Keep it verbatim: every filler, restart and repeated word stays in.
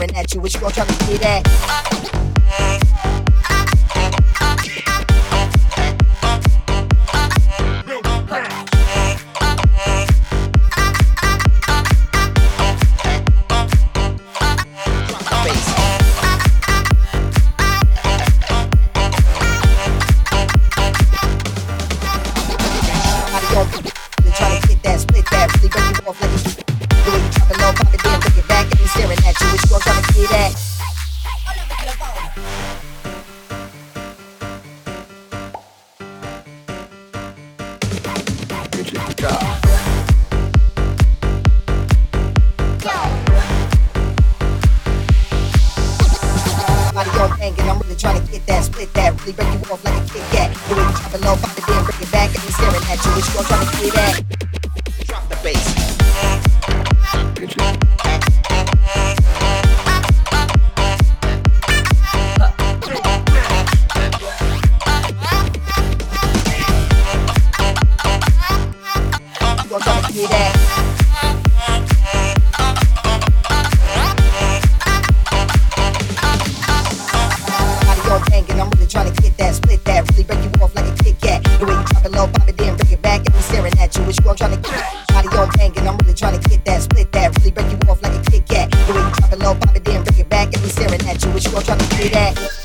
staring at you. What you gon' try to get at? And I'm really trying to get that, split that, really break you off like a Kit Kat. The way you drop it low, pop it in, bring it back, and me staring at you. What you gon' try to get at? Drop the bass. You gon' try to get at? And I'm really trying to get that, split that, really break you off like a Kit Kat. The way you drop it low, pop it in, bring it back, and me staring at you. What you gon' try to get? Body on bang, and I'm really trying to get that, split that, really break you off like a Kit Kat. The way you drop it low, pop it in, bring it back, and me staring at you. What you gon' try to get at?